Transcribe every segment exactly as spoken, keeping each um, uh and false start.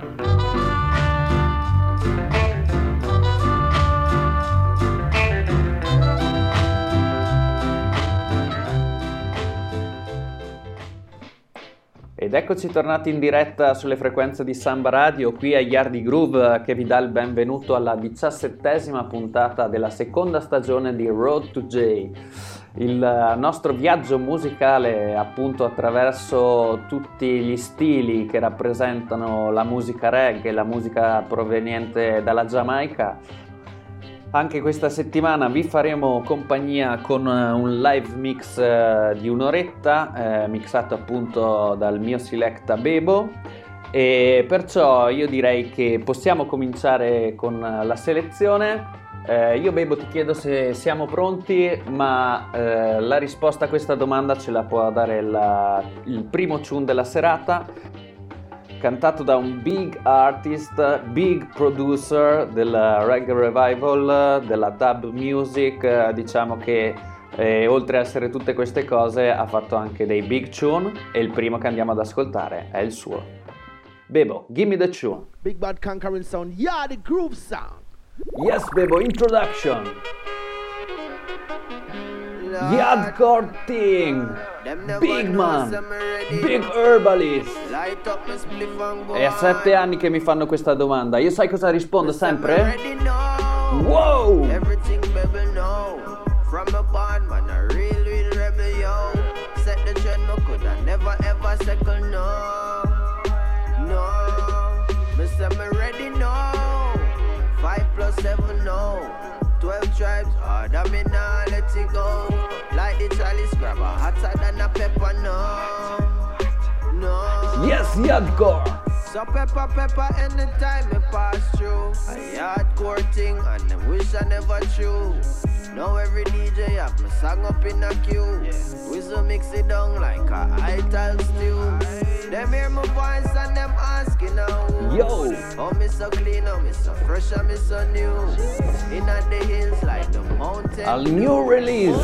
Ed eccoci tornati in diretta sulle frequenze di Samba Radio, qui a Yardi Groove, che vi dà il benvenuto alla diciassettesima puntata della seconda stagione di Road to J, il nostro viaggio musicale appunto attraverso tutti gli stili che rappresentano la musica reggae, la musica proveniente dalla Giamaica. Anche questa settimana vi faremo compagnia con un live mix eh, di un'oretta, eh, mixato appunto dal mio selecta Bebo, e perciò io direi che possiamo cominciare con la selezione. Eh, io Bebo ti chiedo se siamo pronti, ma eh, la risposta a questa domanda ce la può dare la, il primo tune della serata, cantato da un big artist, big producer del reggae revival, della dub music, diciamo che eh, oltre a essere tutte queste cose ha fatto anche dei big tune, e il primo che andiamo ad ascoltare è il suo. Bebo, give me the tune. Big Bad Conquering Sound, yeah, the groove sound. Yes, Bebo, introduction. The hardcore thing, big man, big herbalist. È a sette anni che mi fanno questa domanda. Io sai cosa rispondo sempre? Wow! Everything baby know. From a band man, a real, real rebel, yo. Set the trend, no could I never ever second, no. No, Mister me ready, no. Five plus seven, no. Twelve tribes, harder me now, let it go. Like the chalice grabber, hotter than a pepper, no. No. Yes, hardcore. So pepper, pepper, anytime me pass through. A hardcore thing, and them wish I never true. Now every D J have me song up in a queue. Whistle mix it down like a ital stew. Them hear my voice and them asking now. Yo! Oh, me so clean, oh, me so fresh, and me so new. In the hills like the mountain. A new release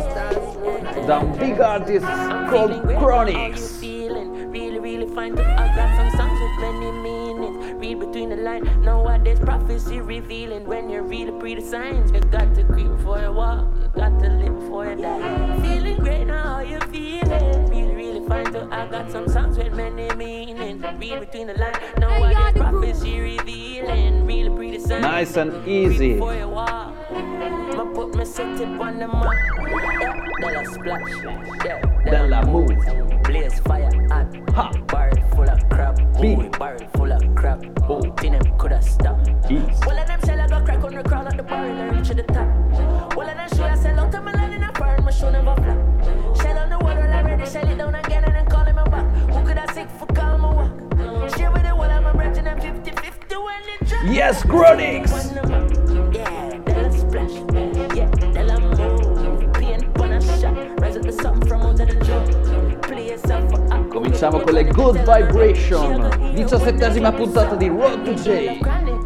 da un big artist called Chronix. Really, really fine. I got some songs with many meanings. Read between the lines. Nowadays prophecy revealing. When you read the pre the signs, you got to creep for your walk. You got to live for your die. Feeling great now, how you feeling? Really, really fine. So I got some songs with many meanings. Read between the lines. Nowadays prophecy revealing. Really pre the signs. Nice and easy. For your walk. I put my set tip on the map. Yeah, then I splash. Yeah, then I move. Blaze fire hot. Ha! Barrel full of crap. Boy, barrel full of crap. Oh, think them coulda stopped. Well, of them shell I got crack on the crown at the barrel and reach to the top. Well, of them show I sell out to my land in a fire and my show never flop. Shell on the water already, shell it down again and then call him back. Who could I sick for call my walk? Share with the wall of my branch and them fifty fifty when it drop. Yes, Chronix! Yeah, they'll splash. Yeah, they'll move. Paint on a shot. Rise up the something from out of the jump. Play yourself for up. Cominciamo con le Good Vibration, diciassettesima puntata di Road to J.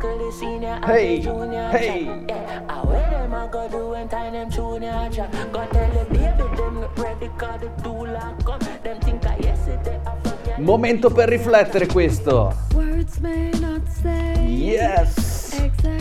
Hey, hey. Momento per riflettere questo. Yes.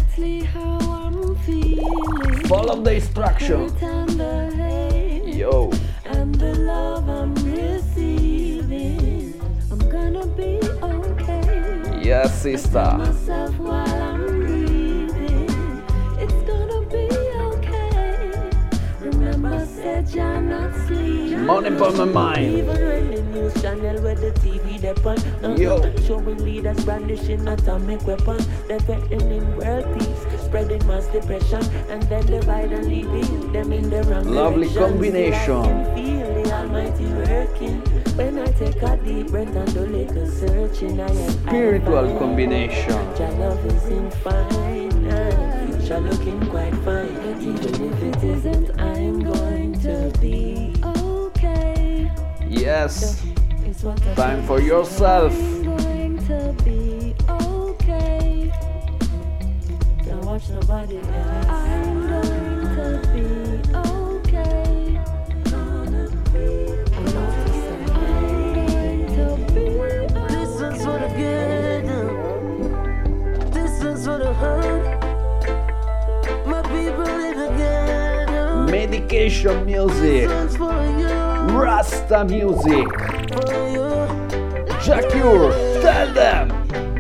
Follow the instruction. Yo. And the love I'm receiving, I'm gonna be okay. Yes, sister. Myself while I'm breathing, it's gonna be okay. Remember, said you're not sleeping. Money on my mind. Even when the news channel with the T V depend. Yo. Showing leaders brandishing atomic weapons, they're threatening world peace, spreading mass depression, and then divide and leading them in the wrong lovely direction. Combination. Feel the Almighty working when I take a deep breath and do little searching. I am spiritual I combination. Your love is in fine, and future looking quite fine. Even if it isn't, I'm going to be okay. Yes. Time for yourself. I'm going to be okay. Don't watch nobody else. I'm going to be okay. Gonna be okay. I'm going to be okay. Listen for the good. Unification music, Rasta music. Jah Cure, tell them.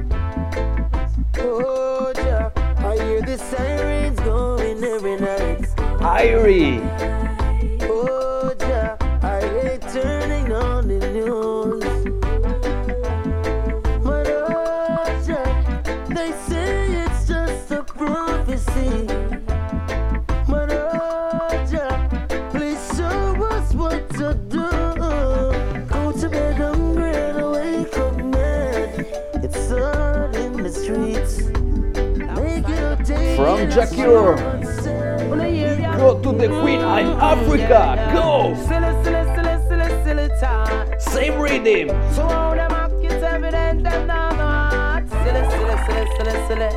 Oh, yeah, I hear the sirens going every night. Irie. Oh, yeah, I hate turning on the news. But oh, yeah, they say it's just a prophecy. But oh, yeah, please show us what to do. Go to bed hungry and wake up mad. It's all in the streets. Make it a day. From Jah Cure. Go to the Queen in Africa. Go. Same rhythm. So all them acts evident them not. Silly, silly, silly, silly, silly.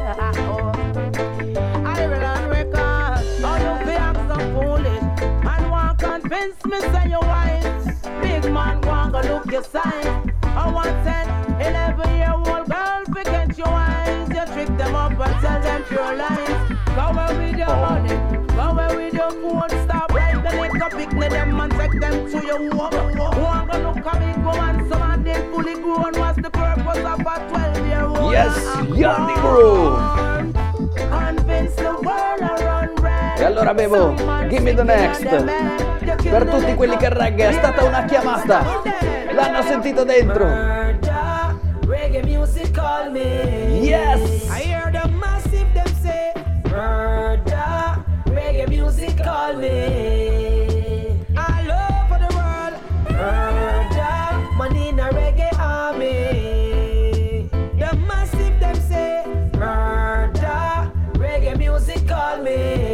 I will on record. All you be act so foolish and want convince me say you wise. Big man want go look your sign. I want ten, eleven year old girl fi catch your eyes. You trick them up and tell them pure lies. Go away with your money, go away with your phone. Stop right the liquor, pick me them and take them to your home. Want go look at me go and some of them fully grown. What's the purpose of a twelve year old? Yes, Yanni Groove. Convince the world around red. E allora bevo, give me the next. Per tutti quelli che reggae è stata una chiamata. L'hanno sentito dentro. Reggae music call me. Yes. I hear the massive them say murder. Reggae music call me. All over the world. Murder. Money in a reggae army. The massive them say murder. Reggae music call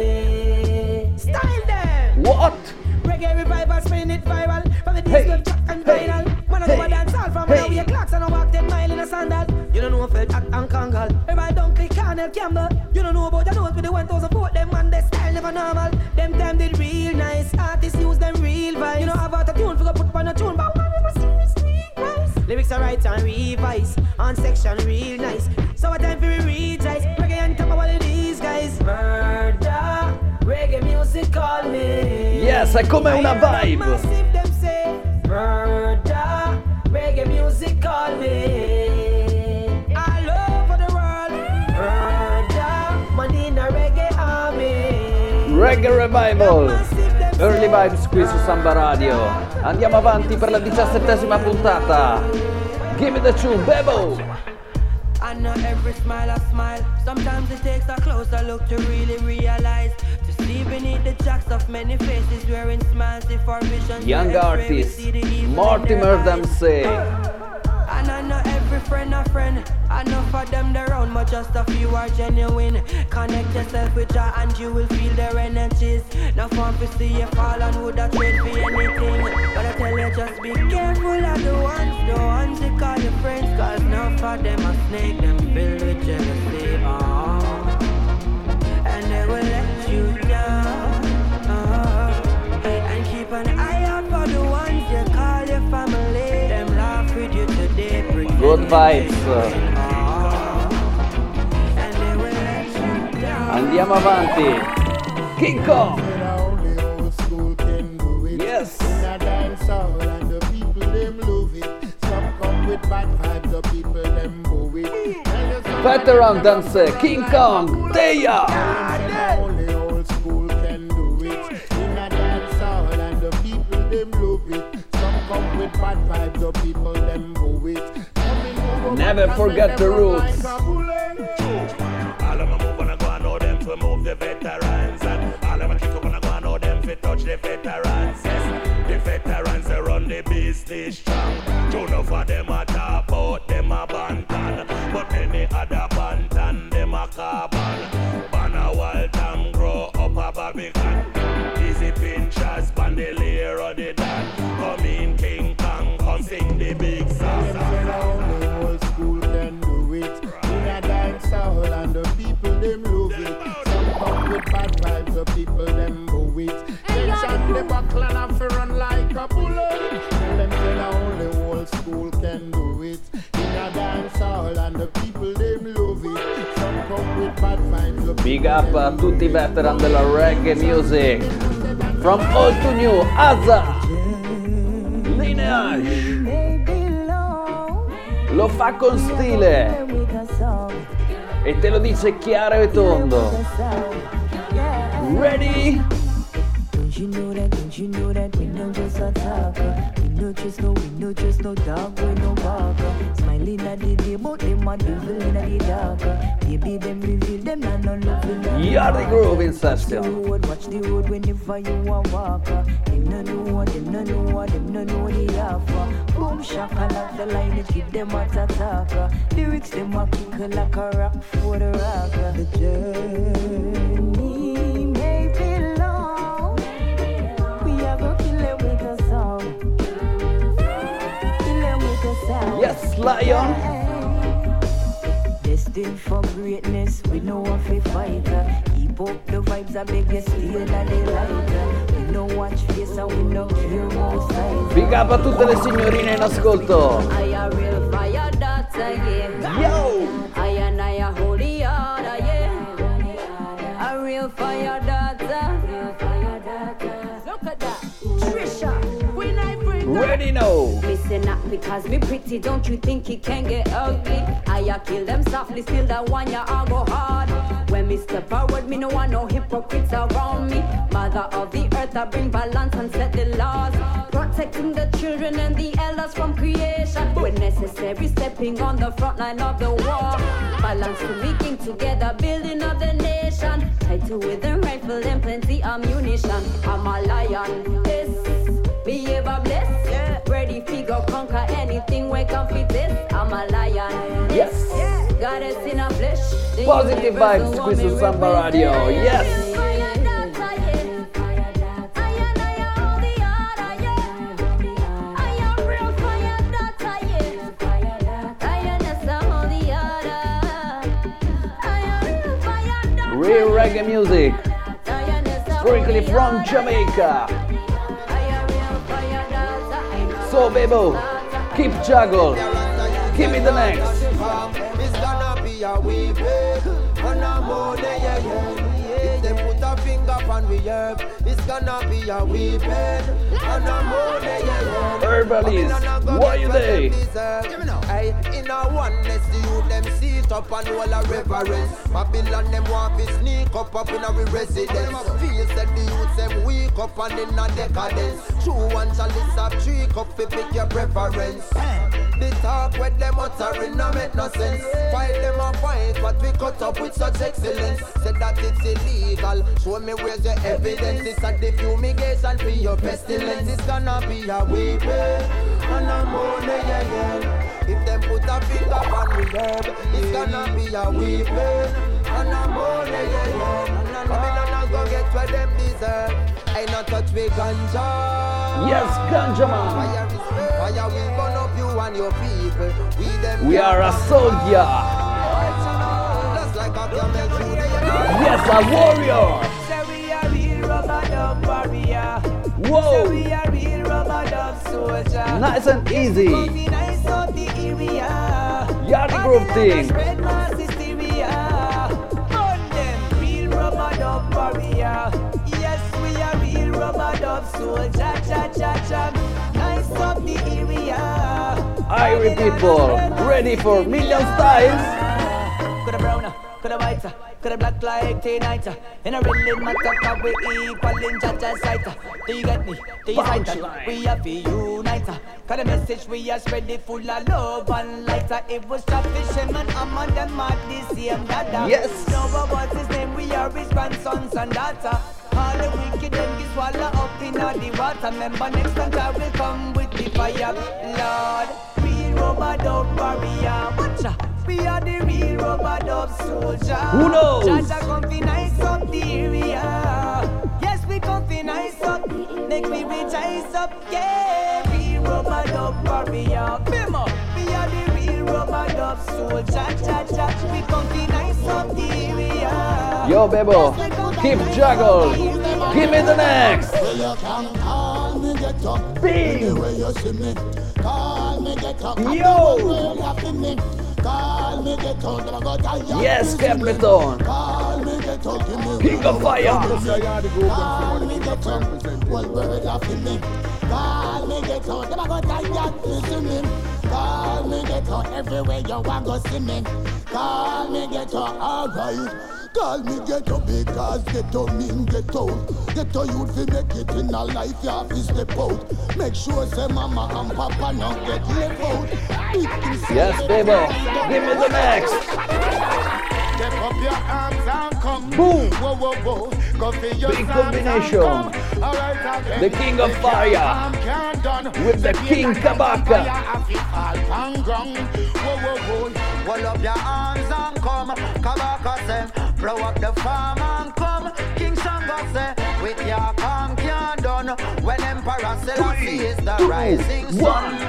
me. Style them. What? Reggae revival, spin it viral. From the Hey, disco track and hey, vinyl. Man, I hey, go a dance all from hey. now. We a clocks and I walk ten mile in a sandal. You don't know if it's Jack and Kangal. Everybody don't click Cornell Campbell. You don't know about the notes with the one thousand foot. Them man, they style never normal. Them time did real nice. Artists use them real vibes. You know have out a tune, forgot put on a tune, but one never seriously nice. Lyrics are right and revise. On section real nice. So what time for we rejoice. Reggae and top of all of these guys. Murder. Reggae music call me. Yes, è come una vibe. Massive them say murder. Reggae music call me. All over the world. Murder. Money in a reggae army. Reggae Revival. Early Vibes qui su Samba Radio. Andiamo avanti per la diciassettesima puntata. Give me the tune, Bebo. I know every smile I smile. Sometimes it takes a closer look to really realize. To see beneath the jacks of many faces wearing smiles for vision. Young artist, Mortimer Dempsey. And I know every friend a friend. I know for them they're around, but just a few are genuine. Connect yourself with Jah and you will feel their energies. Now fun to see you fall and would have trade for anything. But I tell you just be careful of the ones, the ones you call your friends. Cause now for them a snake, them filled with jealousy. Oh. And they will let you down. Oh. And keep an eye out for the ones you call your family. Them laugh with you today. Good vibes. Andiamo avanti. King Kong. Yes. Veteran dance, King Kong, Teya. Never forget the roots. All of my move on, I go and know them to move the veterans. And all of my kick up on, I go and know them to touch the veterans. Yes, the veterans, they run the business strong. Two enough of them a talk about them a bantan. But many other bantan, them a carbon. Banner Waltham grow up a Barbican. Easy pinchers, bandolier or the dan. Come in King Kong, come sing the big song. And the people them love it. Some come with bad vibes, the people them move it. Tension the buckle and have to run like a bullet. Tell them say only old school can do it. In a dance hall and the people them love it. Some come with bad vibes. Big up a tutti i veteran della reggae music. From old to new, Azza, Lineage. Lo fa con stile e te lo dice chiaro e tondo. Ready? Don't you know that, don't you know that we don't just a talker. We no just no, we no just no dog, we no barker. Smiling at the day, but them a devil in the darker. Baby, them reveal them and no love in the Yardi Groove in session. Watch the road whenever you a walker. Them no know what, them no know what, them no know the offer. Boom shaka like the line, it keep them at a talker. Lyrics them a kick like a rock for the rocker. The journey may be long. We are gonna kill it with a song. Kill it with a sound. Yes, Lion. Destined for greatness, we know what we fighter. Keep up the vibes, I beg you, stay that they lighter. We no watch face and we no care more size. Big up a tutte le signorine in ascolto. I a real fire daughter, yeah. Yo! I and I a holy order, yeah. A real fire daughter. Real fire daughter. Look at that. Trisha, when I bring Ready now. Listen up because we pretty, don't you think it can get ugly? I a kill them softly, still that one ya I go hard. When me step forward, me no want no hypocrites around me. Mother of the earth, I bring balance and set the laws. Protecting the children and the elders from creation. When necessary, stepping on the front line of the war. Balance to making together, building of the nation. Tied to with a rifle and plenty ammunition. I'm a lion, yes. Behave a bless. Ready figure conquer anything we can fit this. I'm a lion. Yes. Goddess in a flesh. The Positive universal vibes qui su woman Samba Radio. represent. Yes. Real reggae music. Strictly from Jamaica. So, Bebo, keep juggle. Give me the next. It's gonna be a weeping on a morning, yeah, yeah. If they put a finger on we herb, it's gonna be a weeping on a morning, yeah, yeah. Herbalist, why you they? Hey, in a oneness, the youth them sit up and all a reverence. Babylon them want to sneak up up in our residence. Feel said the youth them weak up and in a decadence. True one shall list up three cup to pick your preference. The talk with them uttering no make no sense. Fight them a fight, but we cut up with such excellence. Said that it's illegal, show me where's your evidence. It's a the fumigation for your pestilence. It's gonna be a weeping and a mourning, yeah, yeah. If them put a finger on the herb, it's gonna be a weeping and a mourning, yeah, yeah. Babylon go get what them deserve. Ain't not touch with ganja. Yes, Ganja Man. Fire is fire will burn up you and your people. We them We are a soldier. just like a camel through the Yes, a warrior. Say we a real rubber dub warrior. Say Whoa. we a real rubber dub soldier. Nice and easy. Be nice up the area. Yardi Groove thing. Spread mass hysteria. Burn them real rubber dub warrior. Yes, we a real rubber dub soldier. Cha cha cha. Nice up the area. Irie people, ready for million styles? Coulda browner, coulda whiter, coulda black like T-Nighter. In a really matter, cause we equal in Jaja's sight. Do you get me? Do you sight? Punchline. We are the uniter. Cause the message we are spreading full of love and lighter. It was the fisherman among them at the same dada. Yes. No, but what's his name? We are his grandsons and daughter. All the wicked them get swallow up in all the water. Remember next time I will come with the fire. Lord, real rubber dub warrior. Watcha. We are the real rubber dub soldier. Who knows? Jaja come fi nice up the area. Yes, we come fi nice up. Make me rejoice up. Yeah, real rubber dub warrior. Bimmer. We are the real rubber dub soldier. Jaja, we come fi nice up the area. Yo, Bebo, keep juggle. Give me the next. Well, you can call me get up. Bing. Anyway you see me. Call me get up. Yo. Well, you see me. Call me get up. Never go die. Yes, Capleton. Call me get ghetto, give me King of Fire. Call me ghetto, one word after me. Call me ghetto, them a go tired listening. Call me ghetto, everywhere you want go see me. Call me ghetto, alright. Call me ghetto because ghetto mean ghetto. Ghetto youth fi make it in a life, you have to step out. Make sure say mama and papa not get left out. Yes, Bebo, give me the next. Step up your arms and come. Boom. Whoa, whoa, whoa. Go for your Big combination. The King of Fire with the King Kabaka. Hold up your arms and come. Kabaka say, blow up the farm and come. King Shango say, with your calm can't done. When Emperor Selassie is the two, rising sun.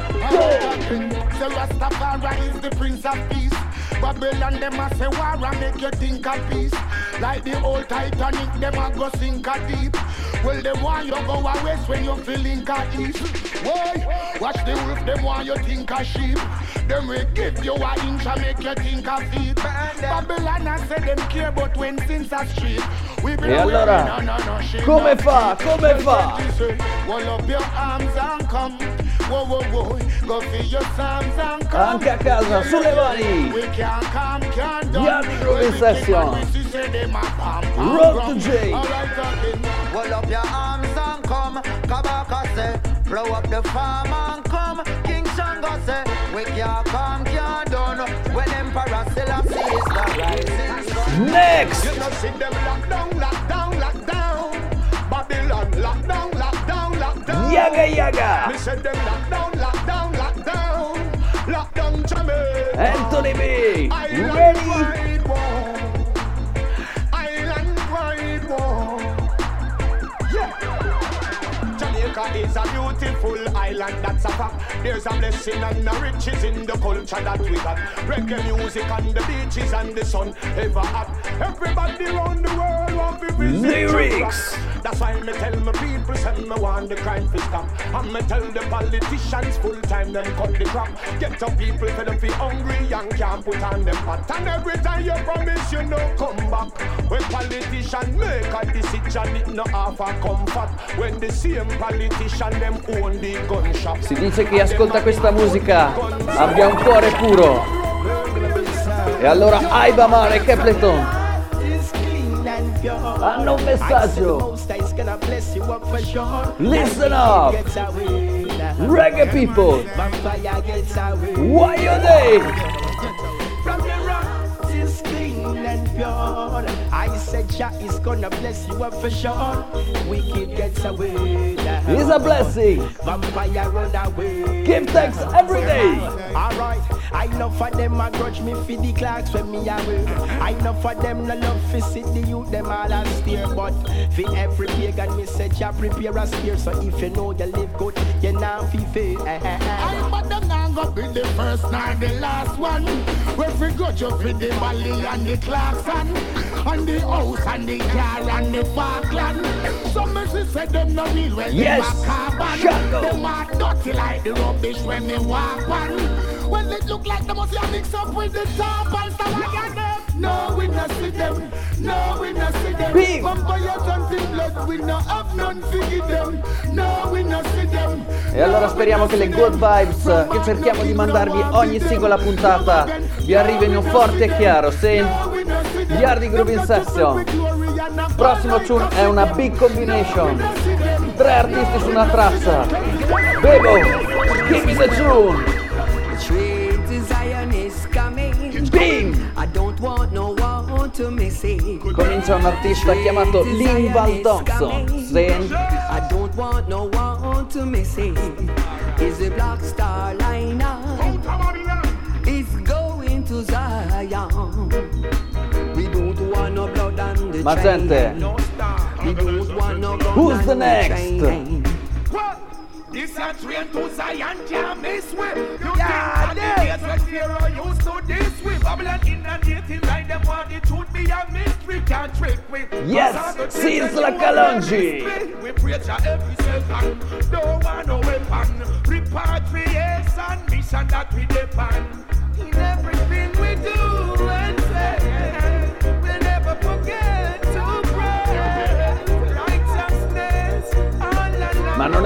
The Rastafari is the Prince of Peace. Babylon them a say war and make you think of peace. Like the old Titanic, them a go sink a deep. Well, them want you go a west when you feeling a east. Why? Watch the wolf, them want you think a sheep. Them will give you a inch and make you think a feet. Babylon a say them care but when things are street. We be E allora, no, no, no, shit, come no. fa? Come fa? Hold up your arms and come. Whoa, whoa, whoa. Go for your psalms and come. Anche a casa, sulle mani. We can't come, can't do. Yardi Groovin Session. Road to J. Hold up your arms and come. Kabaka say, blow up the farm and come. King Shango say, we can't come, can't done. When Emperor Selassie is the rising sun. Next. You know, see them lock down, lock down, lock down. Babylon, lock down, lock down, lock down. Yaga Yaga. Me said them lock down, lock down, lock down. Lock down Jamaica. Anthony B. Island Ready? wide war. Island wide war. Yeah. Jamaica is a beautiful island, that's a fact. There's a blessing and the riches in the culture that we got. Reggae music and the beaches and the sun ever hot. Everybody around the world want to visit Lyrics. That's why me tell my people, send me want the crime to stop. And me tell the politicians full time them cut the crap. Get up people for them feel hungry and can't put on them pot. And every time you promise you no come back. When politicians make a decision it no half a comfort. When the same politician them own the gun shop. Si dice che chi ascolta questa musica abbia un cuore puro. E allora Aiba Mare e Capleton hanno un messaggio. Listen up, reggae people. Why are they? From the rock is clean and pure. I said Jah is gonna bless you up for sure. Wicked gets away. It's a blessing. Vampire run away. Give thanks every day. Alright, I know for them I grudge me for the clocks when me away. I know for them no love for see the youth them all a steer. But for every pagan me say Jah prepare a spear. So if you know you live good, you now feel fair. I but them now go be the first nor the last one. We forgot you for the Bally and the Clarkson, and the house and the car and the Falkland. Some mercy said them no real when Yes, they walk carbon. Shadow. Them are dirty like the rubbish when they walk one. When it look like they must have mixed up with the top and stuff like that. No, we not see them. No, we not see them. Big. Vampires and the blood, we not have none figure them. No, we not see them. E allora speriamo che le good vibes che cerchiamo di mandarvi ogni singola puntata vi arrivino forte e chiaro. Sì, Yardi Groovin Session. Prossimo tune è una big combination. Tre artisti su una traccia. Bebo, give me the tune. Train to Zion is coming. Bing! I don't want no one to miss it. Comincia un artista chiamato Linval Thompson. Sì. I don't want no one to miss it. Is a black star liner. It's going to Zion. We don't want no blood on the Ma train. gente, We don't want no gun who's on the next? train. This a train to Zion can't miss way. You Yeah, think that the days when Pharaoh used to this way. Babylon inundating like them want the truth be a mystery. Can't trick with. Yes, since la Kalonji. We preach a every second. Don't want no weapon. Repatriation mission that we depend. In everything we do and say, we'll never forget.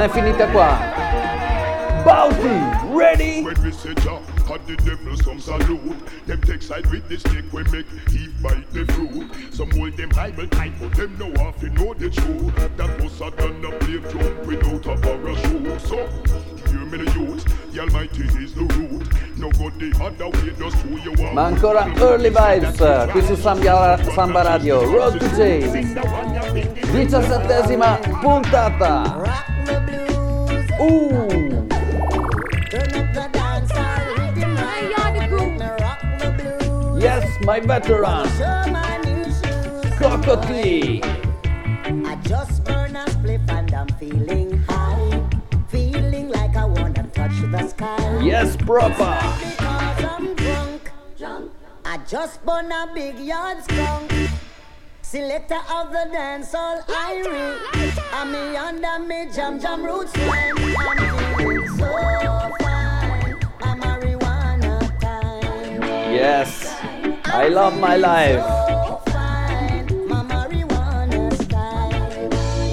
è finita qua. Bounty, ready? When we say jump, cut the devil some salute. Them take side with the stick, we make Eve bite the fruit. Some hold them Bible tight, but them know half to know the truth. That was a gun up play jump without a parachute. So, hear me the youth, the Almighty is the root. No go the other way, just who you are. Ma ancora Early Vibes qui su Samba, Samba Radio. Road to J. diciassettesima puntata. Uh. Yes, my veteran. Cocotti. I just burn a spliff and I'm feeling high. Feeling like I wanna touch the sky. Yes, proper. Because I'm drunk. I just burn a big yard skunk. Selector of the dancehall Irie. I'm me under me jam jam roots line. I'm feeling so fine. I'm marijuana time. Yes, I love my life. So fine. My marijuana style.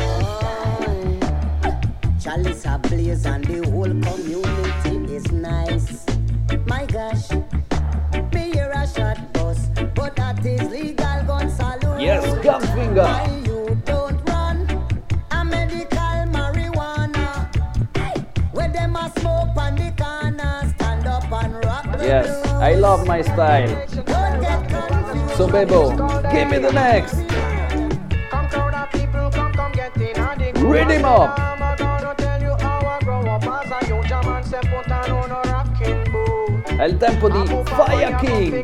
Chalice a blaze and the whole community is nice. My gosh, me hear a shot bus, but that is legal gun salute. Yes, Gumfinger. Why you don't run a medical marijuana? Hey, where them a smoke on the corner, stand up and rock the Yes, blues. I love my style. Don't get confused. So Bebo, give me the next. Come crowd of people, come, come get in and the Read him up. I'm gonna tell you how I grow up as a young German, say put on on a rocking boot. È il tempo di Fire King.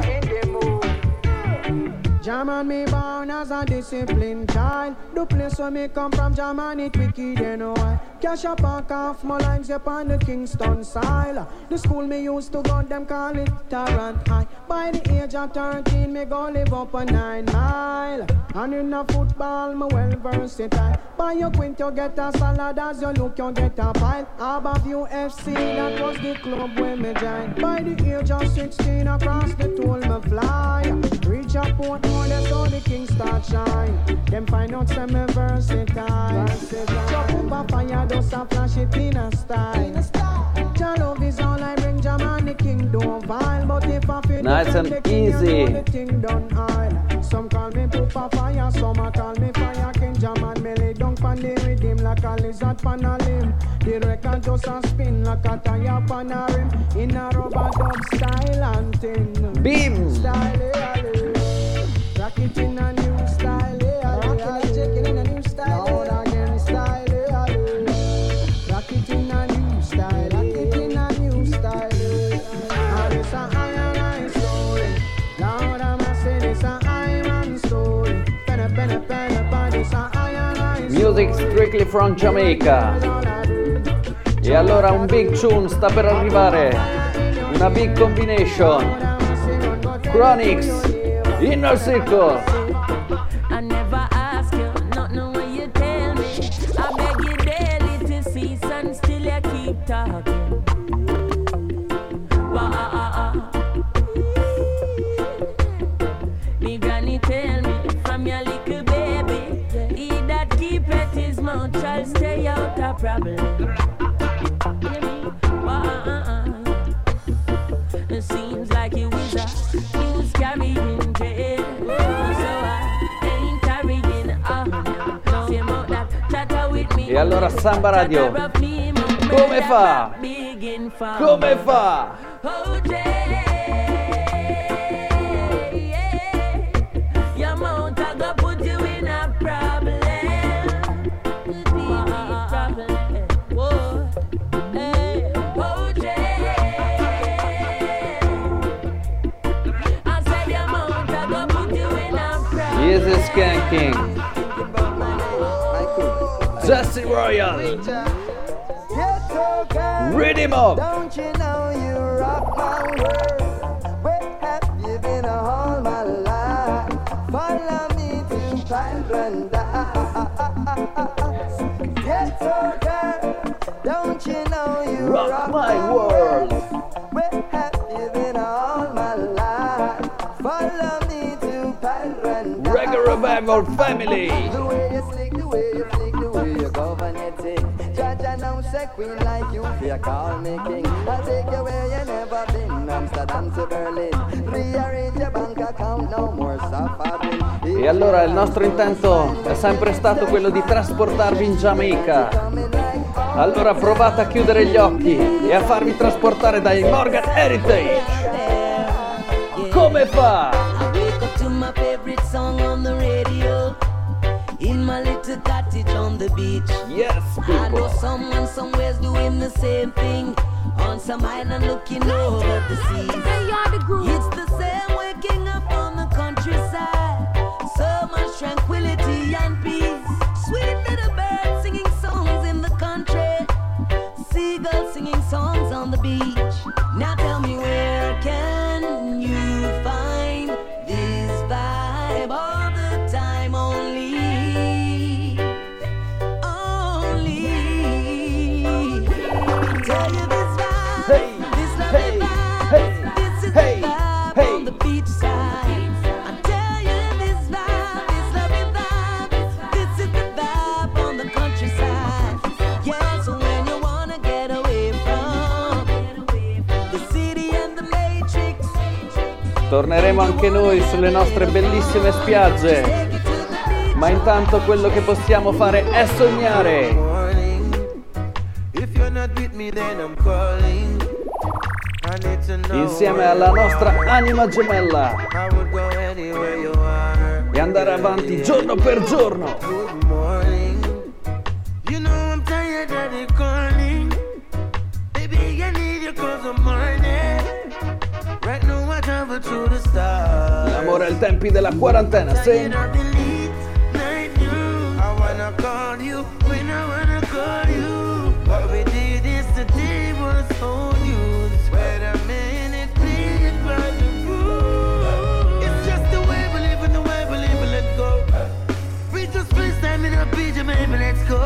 German me born as a disciplined child. The place where me come from, German it wicked and why. Cash up and off my lines upon the Kingston side. The school me used to go, them call it Tarrant High. By the age of thirteen, me go live up a nine mile. And in a football, me well versatile. By your quint, you get a salad. As you look, you get a pile. Above U F C, that was the club where me joined. By the age of sixteen, across the toll me fly. Reach a port more, that's how the king start shine. Them find out some me versatile. Chop up a fire, just a flash it in a style. Jah love is all I bring, Jah man the king don't vile. But if I feel Nice and the king, you easy. know the thing done aisle. Some call me Poopa Fire, some a call me Fire King. Jah man me lay down pan the rhythm like a lizard pan a limb. The record just a spin like a tire pan a rim. In a rubber dub style and thing. Beam. Style, yeah, yeah. Rock it in a new style, yeah, rock it and check it in a new style. Loud again style, yeah, yeah. Rock it in a new style, rock it in a new style. Now this a iron eye story. Loud I'm a say this a iron story. Penna, penna, penna, penna, this a iron eye story. Music strictly from Jamaica. E allora un big tune sta per arrivare. Una big combination. Chronics, Inner Circle. I never ask you, nothing when you tell me. I beg you daily to cease and still you keep talking. Wah, me granny tell me from your little baby, he that keep at his mouth shall stay out of problem. It seems like you is a news carrying jail. So I ain't carrying on. Say about that chatter with me. E allora Samba Radio, come fa? Come fa? Oh, Jay, your mouth a go put you in a problem. Whoa, hey, oh, Jay, I said your mouth a go put you in a problem. He is a skanking. Jesse Royal. Read him up. Don't you know you rock my world? Where have you been all my life? Follow me to paradise. Ghetto girl, don't you know you Rock rock my my world. Where have you been all my life? Follow me to paradise. Reggae Revival Family. The way you slick, the way you flick, the way you govern your thing. Judge say queen like you, fear call me king. I'll take you where you never been, Amsterdam to Berlin. Rearrange your bank account, no more suffering. E allora il nostro intento è sempre stato quello di trasportarvi in Giamaica. Allora provate a chiudere gli occhi e a farvi trasportare dai Morgan Heritage. Come fa? I wake up to my favorite song on the radio, in my little cottage on the beach. Yes, I know people. someone somewhere's doing the same thing, on some island looking over the sea. It's the same waking up on the countryside, so much tranquility and peace. Sweet little birds singing songs in the country, seagulls singing songs on the beach. Now tell me, where can you find this vibe all the time? Only, only. Tell you this vibe, Hey, this lovely hey, vibe, hey, this is hey, the vibe hey. on the beach side. I tell you this vibe, this lovely vibe, this is the vibe on the countryside. Yeah, so when you wanna get away from the city and the matrix, Torneremo anche noi sulle nostre bellissime spiagge. take it to the beach. Ma intanto quello che possiamo fare è sognare. Morning. If you're not with me, then I'm calling. I need to know Insieme where alla you nostra are. anima gemella. I would go anywhere you are. E andare avanti giorno per giorno. Good morning. You know I'm tired of the calling. Baby, I need you 'cause I'm morning. Right now I travel through the stars. L'amore ai tempi della quarantena, sì. Tired of the late night news. I wanna call you when I wanna call you. What we did yesterday was so new. Wait a minute, please, by the rule. It's just the way we live and the way we live, let's go. We just spend time in a beach, maybe let's go.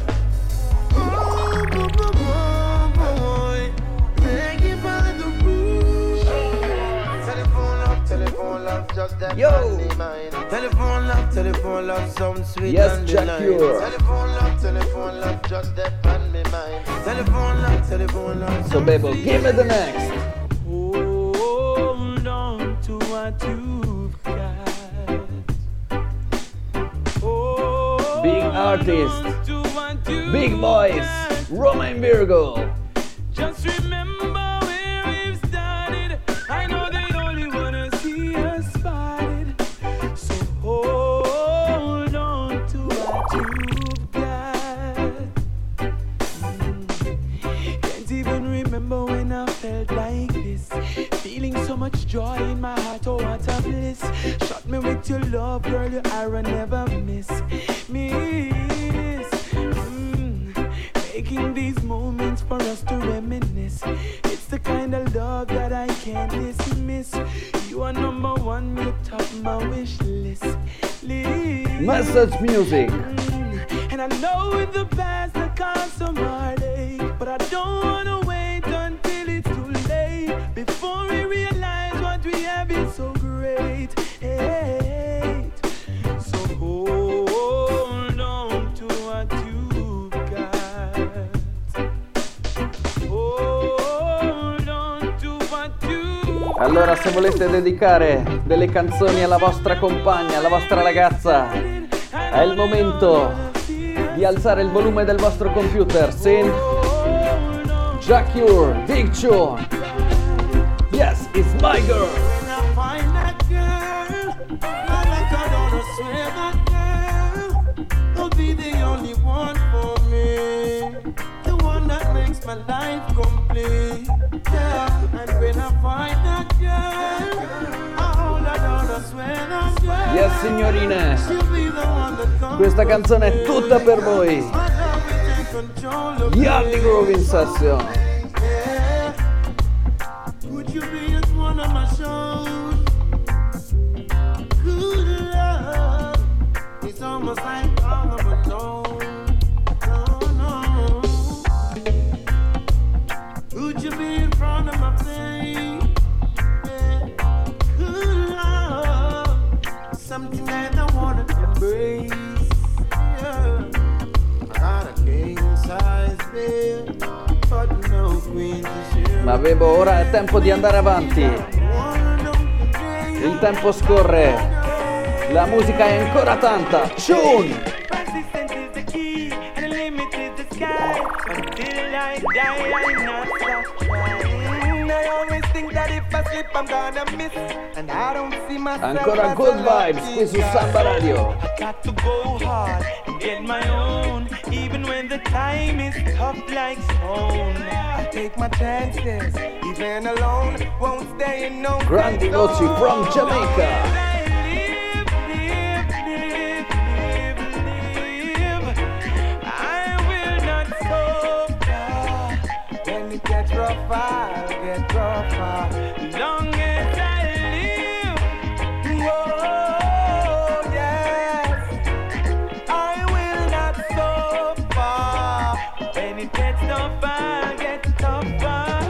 Oh, boy, boy, boy, boy. Thank you by the rule. Telephone love, telephone love, just that Yo. on the mind. Telephone love, telephone love, sound sweet Yes, on the Jack line. Cure. Telephone love, telephone love, just that on me mind. Telephone love, telephone love. So Bebo, give me the next. Hold on to what you've got. Hold Big artist. on to what you've Big boys. got. Roma and Virgo. Just remember where we've started. I know they only wanna see us spotted. So hold on to what you've got. Mm. Can't even remember when I felt like this. Feeling so much joy in my heart, oh what a bliss. Shot me with your love, girl, your arrow never miss. Miss. Mm. Making these moments for us to reminisce. It's the kind of love that I can't dismiss. You are number one, you top my wish list. list. Message music. Mm, And I know in the past I caused some heartache, but I don't wanna wait until it's too late. Before we realize what we have is so great. Hey, so hold on to what you've got. Hold on to what you've got. Allora, se volete dedicare delle canzoni alla vostra compagna, alla vostra ragazza, è il momento di alzare il volume del vostro computer. Sì? Jack Cure, Big Tune. Yes, it's my girl. When I find that girl, I like I don't swear that girl will be the only one for me, the one that makes my life complete. Yeah, and when I find that girl, I hold her down, I swear that girl. Yes, signorine. She'll be the one that comes Questa canzone è tutta per voi. my love will take control of Yardi me. Groove in session. Yeah. Would you be at one of my shows? Good love. It's almost like all of alone. No, no. Would you be in front of my face? Yeah. Good love. Something that I wanna embrace. Yeah. I got a king size bed. Ma Bebo, ora è tempo di andare avanti. Il tempo scorre. La musica è ancora tanta. Tune! Persistence is the key, and the limit is the sky. Until I die, I not stop trying. I always think that if I slip, I'm gonna miss. And I don't see myself. Ancora good vibes qui su Samba Radio. I got to go hard and get my own, even when the time is tough like stone. I take my chances, even alone. Won't stay in no Grandi voci from Jamaica. Get rough, I'll get rougher. Long as I live, oh yes, I will not suffer. When it gets tough, I'll get tougher.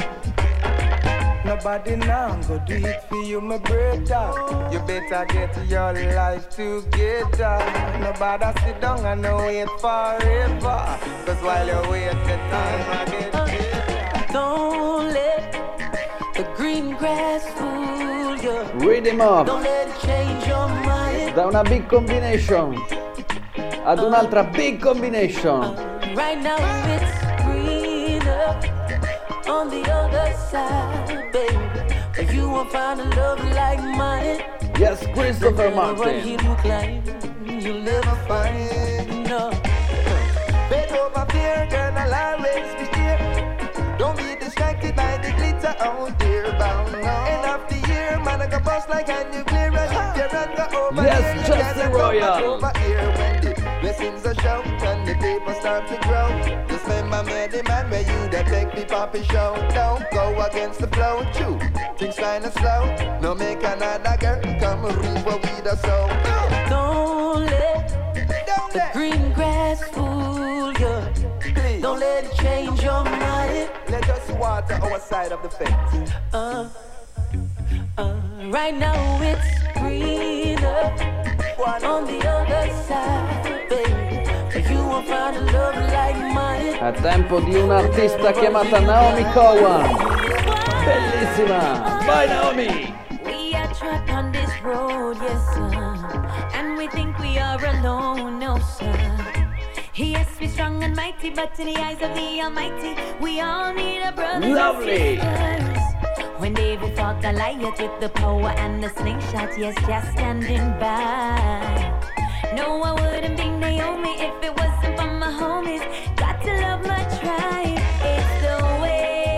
Nobody now go do it for you, my brother. You better get your life together. Nobody sit down and wait forever. Cause while you wait, the time I get better. Don't let the green grass fool you. Read him up. Don't let it change your mind. Da una big combination ad un'altra big combination. Right now it's greener on the other side, baby. If you won't find a love like mine, yes, Christopher Martin. You'll never find no. Bend over fear, girl, I'll always be here. Don't be distracted by the glitter out there, bound now. End of the year, man, I got bust like a nuclear. And if you run go over yes, here, Justin Royal. Over here when the blessings are shown and the people start to grow. Just remember me, the man where you that take the poppy show. Don't go against the flow, too. Things kinda slow. No make another girl come reap what we the soul. Don't let Don't the let. green grass fool you. Please. Don't let it change your mind. Let us water our side of the fence. Uh, uh, right now it's greener on the other side, baby. You won't find a love like mine. È tempo di un'artista chiamata Naomi Cowan. Bellissima. Vai Naomi. We are trapped on this road, yes sir, and we think we are alone, no sir. Yes, we're strong and mighty, but in the eyes of the Almighty, we all need a brother. Lovely. When David fought Goliath with the power and the slingshot, yes, just standing by. No, I wouldn't be Naomi if it wasn't for my homies. Got to love my tribe. It's the way,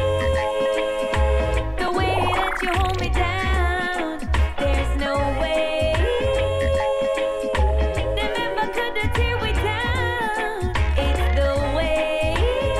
the way that you hold me down. There's no way them ever could have tear we down. It's the way,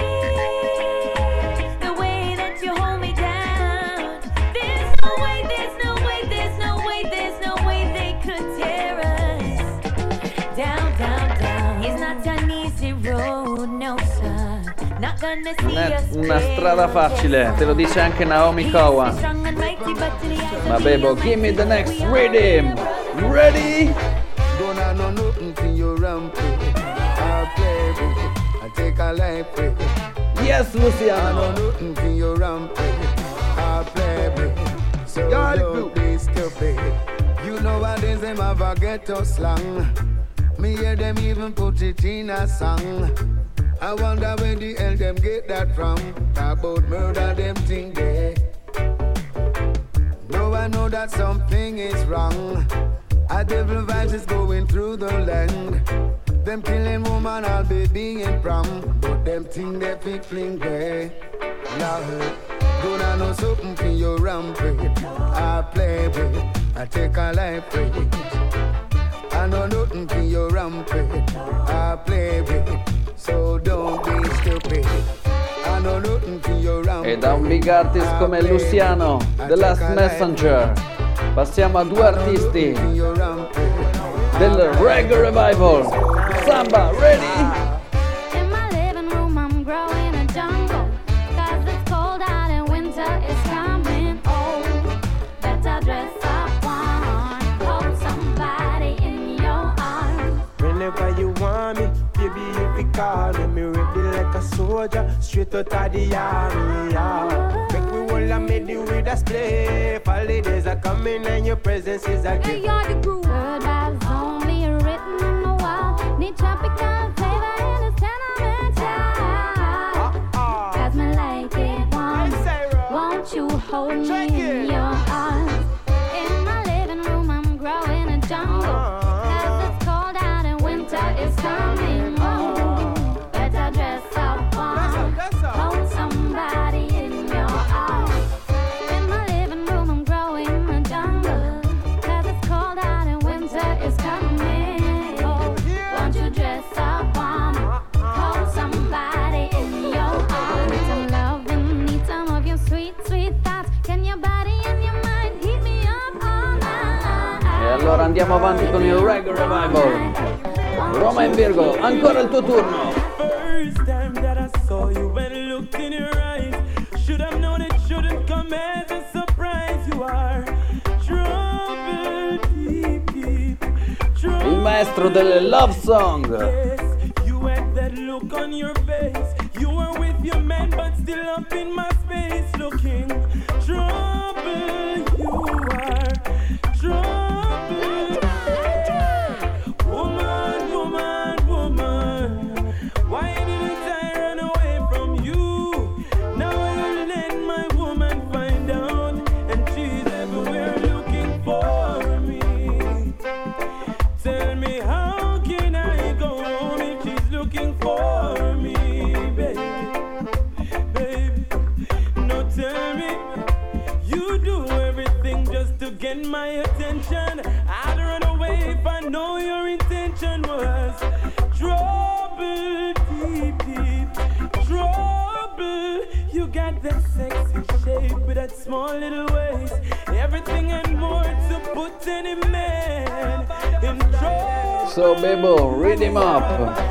the way that you hold me down. There's no way, there's no way, there's no way, there's no way they could tear us down, down, down. It's not an easy road, no sir. Not gonna see Non è us una strada facile, te lo dice anche Naomi Cowan. Ma Bebo, give me the next rhythm. Ready? Gonna know nothing to your rampage. I'll play with it. I'll take a life with it. Yes, Luciano. I know nothing to your rampage. I'll play with it. So don't be stupid. You know what is them have a ghetto slang. Me hear them even put it in a song. I wonder where the hell them get that from. About murder them think they. No, I know that something is wrong. A devil vibes is going through the land. Them killing woman all baby in prom. But them think they fit fling way. Lord, gonna know something for your rampage. I play with it, I take a life with it. I know nothing for your rampage. I play with it, so don't be stupid. I know nothing for your rampage. E da un big artist come Luciano, The Last Messenger, passiamo a due artisti del Reggae Revival. Samba, ready? In my living room I'm growing a jungle, 'cause it's cold out and winter is coming. Oh, better dress up warm, hold somebody in your arms. Whenever you want me, baby, you be calling me ready like a soldier, straight out of the army. Yeah. with a spliff. Holidays are coming and your presence is a gift. Hey, you're the groove. Word vibes only written on the wall. Need tropical flavor in this tenement child. Cause me like it once. Won't you hold me in your arms? In my living room I'm growing a jungle. Cause it's cold out and winter is coming. Oh, better dress up warm. Hold somebody in your arms. In my living room I'm growing a jungle. Cause it's cold out and winter is coming. Oh, won't you dress up warm? Hold somebody in your arms. Need some loving, need some of your sweet, sweet thoughts. Can your body and your mind heat me up all night? E allora andiamo avanti con il Reggae Revival. Roma in Virgo, ancora il tuo turno. First time that I saw you and looked in your eyes, should have known it shouldn't come as a surprise. You are trouble deep, deep, trouble. Il maestro delle love song. Yes, you had that look on your face. You were with your man, but still up in my space, looking trouble. You are trouble. Woman, woman, woman, why didn't I run away from you? Now I let my woman find out, and she's everywhere looking for me. Tell me, how can I go on if she's looking for me, baby? Baby, no, tell me, you do everything just to get my attention. I'd run away if I know your intention was trouble, deep, deep, trouble. You got that sexy shape with that small little waist, everything and more to put any man in trouble. So Bebo, read him up.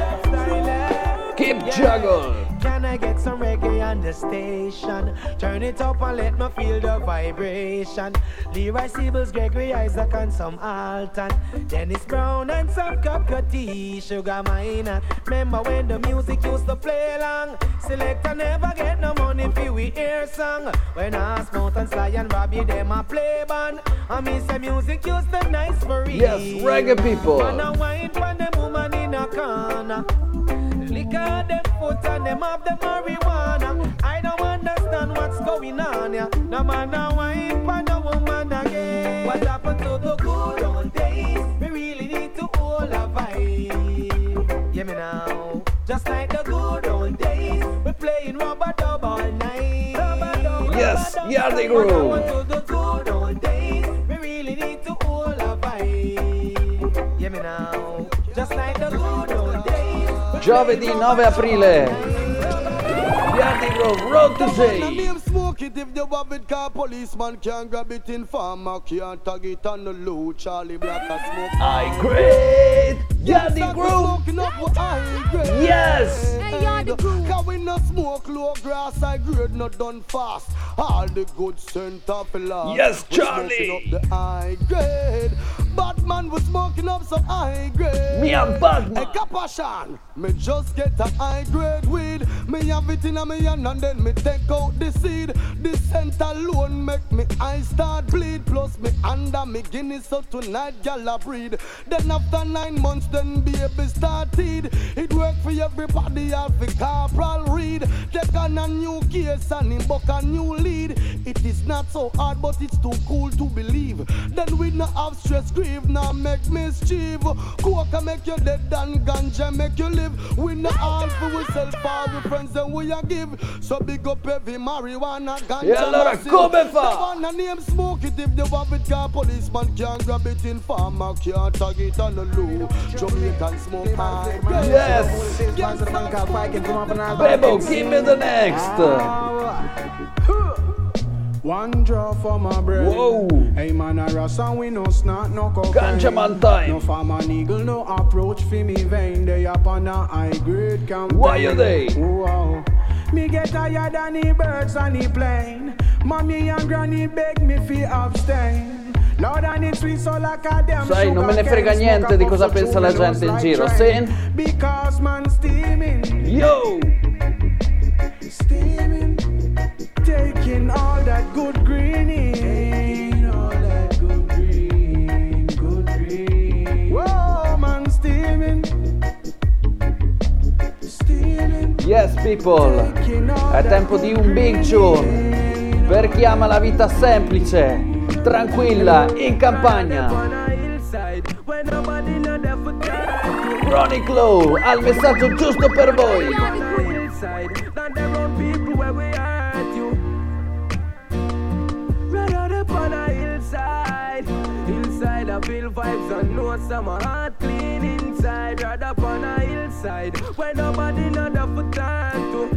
Keep juggle. Can I get some reggae on the station? Turn it up and let me feel the vibration. Leroy Sibbles, Gregory Isaac and some Alton, Dennis Brown and some Cup Cutty, Sugar Minor. Remember when the music used to play long? Selector never get no money for we hear song. When I Smooth and Sly and Robbie them a play band, I miss the music used to nice for real. Yes, reggae people. Man a wine for them woman in a corner. Lick out them foot and them have the marijuana. I don't understand what's going on, yeah. No man a wine for no woman again. What happened to the good old days? We really need to hold a vibe. Yeah, me now. Just like the good old days, we playing rubber dub all night. Rubber dub, Yes, rubber dub. Yardy What Groove. happened to the good old days? We really need to hold a vibe. Yeah, me now. Just like the good old days. Giovedì nove aprile. Yardy Grove, Road to Say. Smoke it if you have it, car policeman can't grab it in farmer, can't tag it on the low. Charlie Black a smoke. I great. Yardy Grove. Smoking up with high grade. Yes. Hey, Yardy Groove. Cause we no smoke low grass, I grade not done fast. All the good scent of the last. Yes, We Charlie. smoking up the high grade. Batman was smoking up some high grade. Me and Batman. Hey, Capashan, me just get a high grade weed. Me have it in a me hand and then me take out the seed. The scent alone make me eyes start bleed. Plus me under me Guinness, so tonight gal a breed. Then after nine months, then baby started. It work for everybody, all for Corporal Reed. Take on a new case and him book a new lead. It is not so hard, but it's too cool to believe. Then we no have stress, grieve, now make mischief. Coca make you dead and ganja make you live. We no all for we sell for we friends and we a give. So big up every marijuana ganja. E allora massive. come fa? The one a name smoke it if you have it, car policeman can't grab it in farmer, can't tag it on the low. Jamaican smoke high. Yes. Bebo, give me the next. One draw for my bread. Whoa. Hey man, I rush and we no snot, no cocaine. Ganja man time. No farmer eagle, no approach for me vein. They up on a high grade campaign. Why are they? Wow. Me get tired of the birds on the plane. Mommy and granny beg me fi abstain. Lord, I need sweet so like a damn Sai, non me ne frega niente di cosa pensa la gente in giro. Sì? Because man steaming. Yo. Steaming. taking all that good green in. All that good green, good green. Whoa, man, steaming. Steaming. Yes, people, è tempo di un big tune per chi ama la vita semplice, tranquilla, in campagna. Chronic Low ha il messaggio giusto per voi. Inside I feel vibes and know some heart clean inside. Right up on a hillside where nobody know the for time to.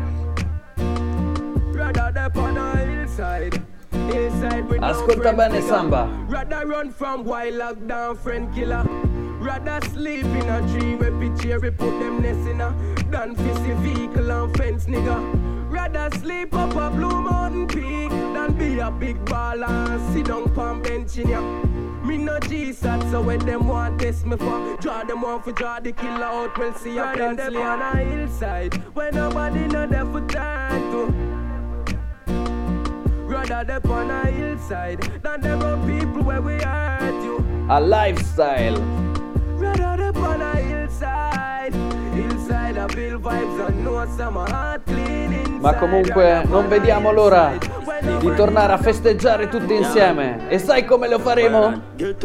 Right up on a hillside. Hillside with Ascolta no bene Samba. Rather run from while lockdown friend killer. Rather sleep in a tree where picture we put them nest in a. Than fizzy vehicle and fence nigga. Rather sleep up a Blue Mountain Peak than be a big baller and sit down palm bench in ya. Me no G-sat, so when them want test me for draw them one for draw the killer out, we'll see a pencil on a hillside where nobody know there for time to. Rather them on a hillside than them on people where we hurt you. A lifestyle. Rather them on a hillside. Hillside I feel vibes and know some heart clean inside. Ma comunque non vediamo l'ora di tornare a festeggiare tutti insieme. E sai come lo faremo?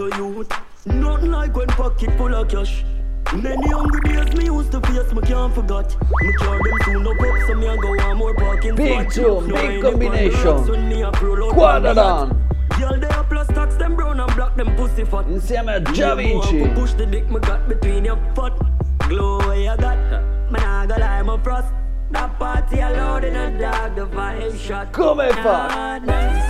Not like when pocket full of cash. Many hungry days me used to face, me can't forget. Me care them soon up up, so me a go one more parking. Big tune, big combination. Quadradan. Girl they a plus tax them brown and black them pussy fat. Insieme a Gia Vinci. Push the dick me got between your foot. Glow where you got, man I go lie my frost. That party alone in a dog, the vibe shot. Come fa?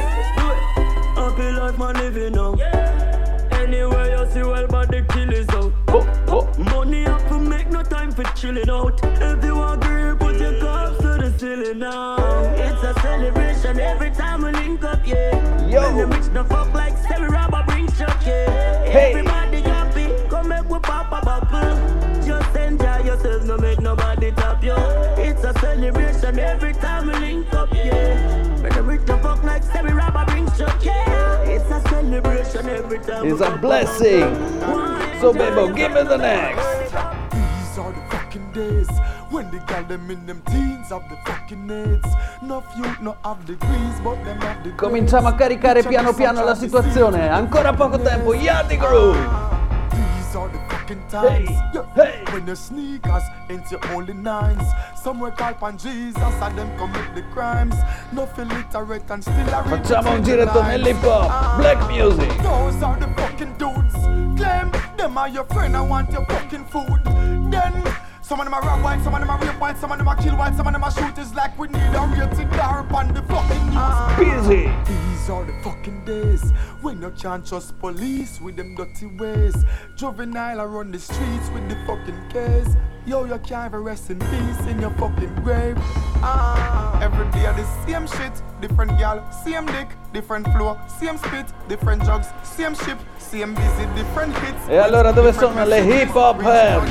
Happy life man living now. Anywhere you see well but the kill is out. Oh, oh. Money up to make no time for chilling out. If you agree put your cups to the ceiling now. It's a celebration every time we link up, yeah. Yo. When the rich the fuck like Sammy Robber bring chuck, yeah. Hey. Everybody happy, come make we pop a bubble. Just enjoy yourself, no make nobody tap you. It's a celebration every time we link up, yeah. When the rich the fuck like Sammy Robber bring chuck, yeah. It's a celebration every time. It's a blessing. So Bebo, give me the next. These are the fucking days when they got them in them teens of the fucking needs. No youth, no have degrees, but them have the. Cominciamo a caricare piano piano la situazione. Ancora poco tempo. Yardy Groove. These are the fucking times. Hey, Yeah. hey. When the sneakers into only nines. Somewhere call upon Jesus and them commit the crimes. No illiterate and still a Facciamo un giretto nell'hip hop. Black music. Those are the fucking dudes. Claim them are your friend, I want your fucking food. Then some of them are rob white, some of them are rape white, some of them are kill white, some of them are shooters like we need a rated dar upon the fucking news. Busy. These are the fucking days when you can't trust police with them dirty ways. Juvenile around the streets with the fucking case. Yo, you can't even rest in peace in your fucking grave. Ah, every day the same shit, different gal, same dick, different flow, same spit, different drugs, same ship, same busy, different hits. E allora dove sono le hip hop head?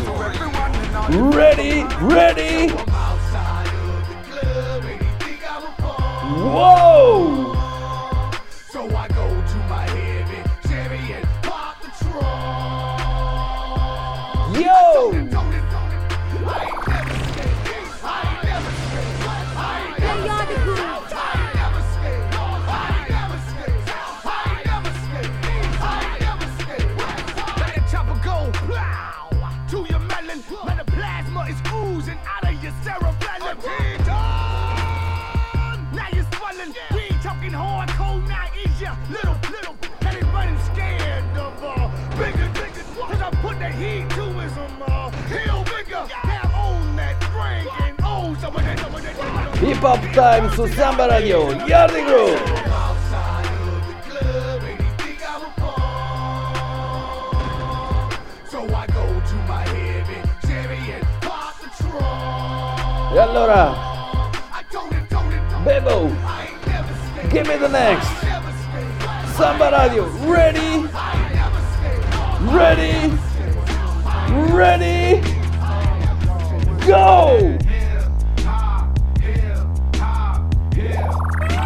Ready, ready. Whoa! So I go to my heavy Chevy and park the truck. Yo! Little, little, and it running scared of uh, bigger, bigger, cause I put the heat to his um, uh, heel bigger, now own that drink and own some of that, some of that. Hip Hop Time su Samba Radio. Yardy Groove. So I go to my heavy Chevy and park the truck. E allora, Bebo, give me the next. Samba Radio, ready? Ready? Ready? Go!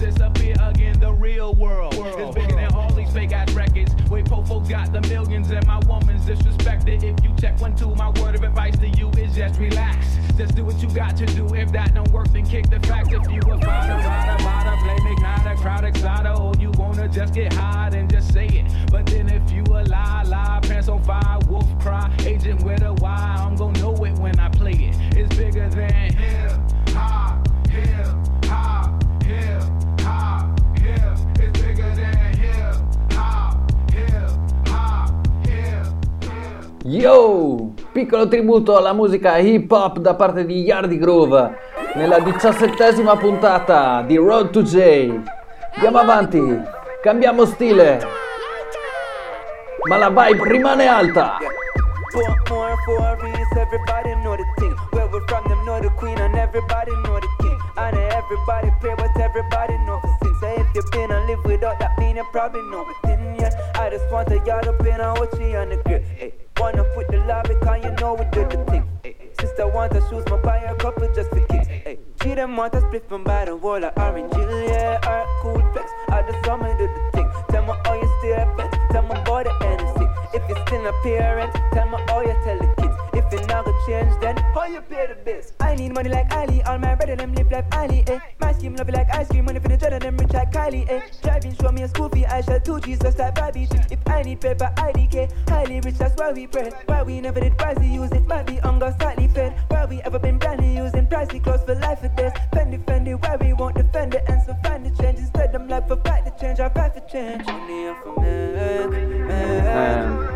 disappear again. The real world is bigger than all these fake ass records. Wait, Fofo got the millions and my woman's disrespected. If you check one, two, my word of advice to you is just relax. Just do what you got to do. If that don't work, then kick the facts. If you a fighter, rider, rider, blame igniter, crowd exciter, or you wanna just get high and just say it. But then if you a lie, lie, pants on fire, wolf cry, agent with a Y, I'm gonna know it when I play it. It's bigger than hip hop, hip hop, hip hop, hip. It's bigger than hip hop, hip hop, hip hip. Yo! Piccolo tributo alla musica hip hop da parte di Yardi Groove nella diciassettesima puntata di Road to J. Andiamo avanti, cambiamo stile, ma la vibe rimane alta. Four more, four reasons, everybody know the thing. Where we're from, them know the queen, and everybody know the king. And everybody pray, but everybody know the sin. So if you've been and live without that, mean you probably know it. Then yeah, I just want to yard up in a watchy on the grip. Hey, wanna put the love because you know we do the thing. Hey, sister want to shoes, my buy a couple just for kids. Hey, she them want to split from by the wall of orange hill, yeah, or cool flex. I just saw me do the thing. Tell me how you stay pet, tell me about the N C. If you're still a parent, tell me how you tell the kids. If you're not gonna change, then how you pay the bills? I need money like Ali, all my brother them live like Ali, eh. My scheme love it like ice cream, money for the dread them rich like Kylie, eh. Driving, show me a school fee, I shall two G's just like Bobby. If I need paper, I D K, highly rich, that's why we pray. Why we never did pricey, use it, might be hunger, slightly fed. Why we ever been brandy, using pricey clothes for life or death. Fendi, Fendi, why we won't defend it, and so find the change. Instead, them like for fight the change, I fight for change. Money for me, man.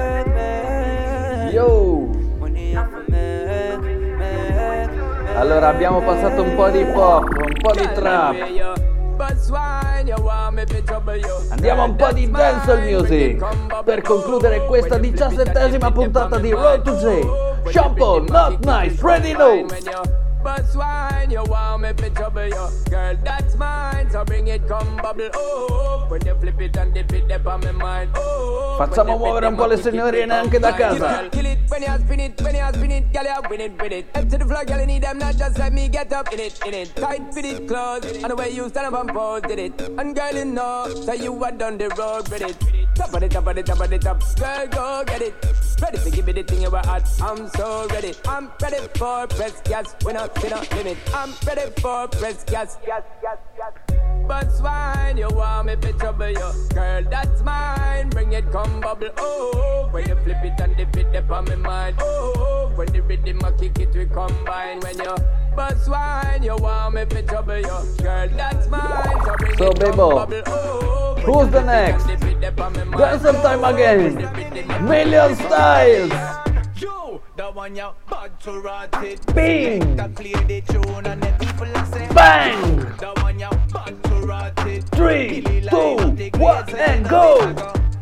Yo! Allora abbiamo passato un po' di pop, un po' di trap. Andiamo un po' di dancehall music per concludere questa diciassettesima puntata di Road to J. Sean Paul, Not Nice, Ready No. But swine, you want me to trouble you. Girl, that's mine, so bring it, come bubble. Oh, when you flip it and dip it, dip on my mind. Oh, facciamo muovere un po' le signorine anche da casa. Kill it, when you spin it, when you spin it, girl, you win it, win it. Up to the floor, girl, you need them, not just let me get up in it, in it. Tight, fit it, close, and the way you stand up and pose, did it. And girl, you know, so you are done the road with it. Top of the top of the top of the top, girl, go get it. Ready to give me the thing you were at, I'm so ready. I'm ready for press gas, when I see no limit. I'm ready for press gas, gas, gas, gas. But swine, you want me to trouble you. Girl, that's mine, bring it, come bubble. Oh, when you flip it and dip it, dip on my mind. Oh, when the rhythm I kick it, we combine. When you but swine, you want me to trouble you. Girl, that's mine, so bring So, it, come Bebo, bubble. Oh, who's the next? Dance some time again. Million Styles. The one you bad to rot it. Bing. Play the tune and the people say Bang. The one you bad to rot it. Three, two, one, and go.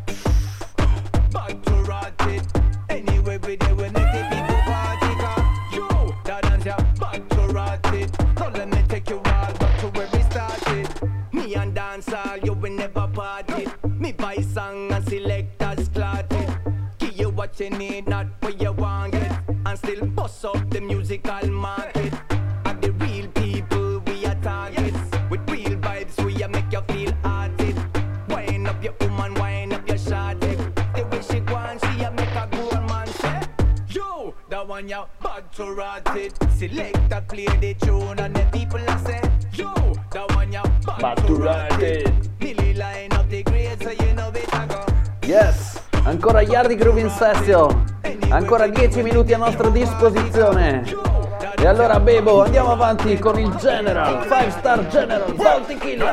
Bad to rot it. Anyway, we there when the people party. Yo, that dance you bad to rot it. So let me take you all back to where we started. Me and dance all, you will never party. Me buy song and select as clotted. Give you what you need, not what you want it. And still bust up the musical market. And the real people we are target. With real vibes we are make you feel hearted. Wind up your woman, wind up your shawty. The way she go and she a make a grown man say, yo, that one you bad to rot it. Select and play the tune and the people a say, yo, that one you bad, Bad to rot it. Billy line up the grade so you know it a go. Yes, ancora Yardi Groove in session. Ancora dieci minuti a nostra disposizione. E allora Bebo, andiamo avanti con il General, five star General, Bounty Killer.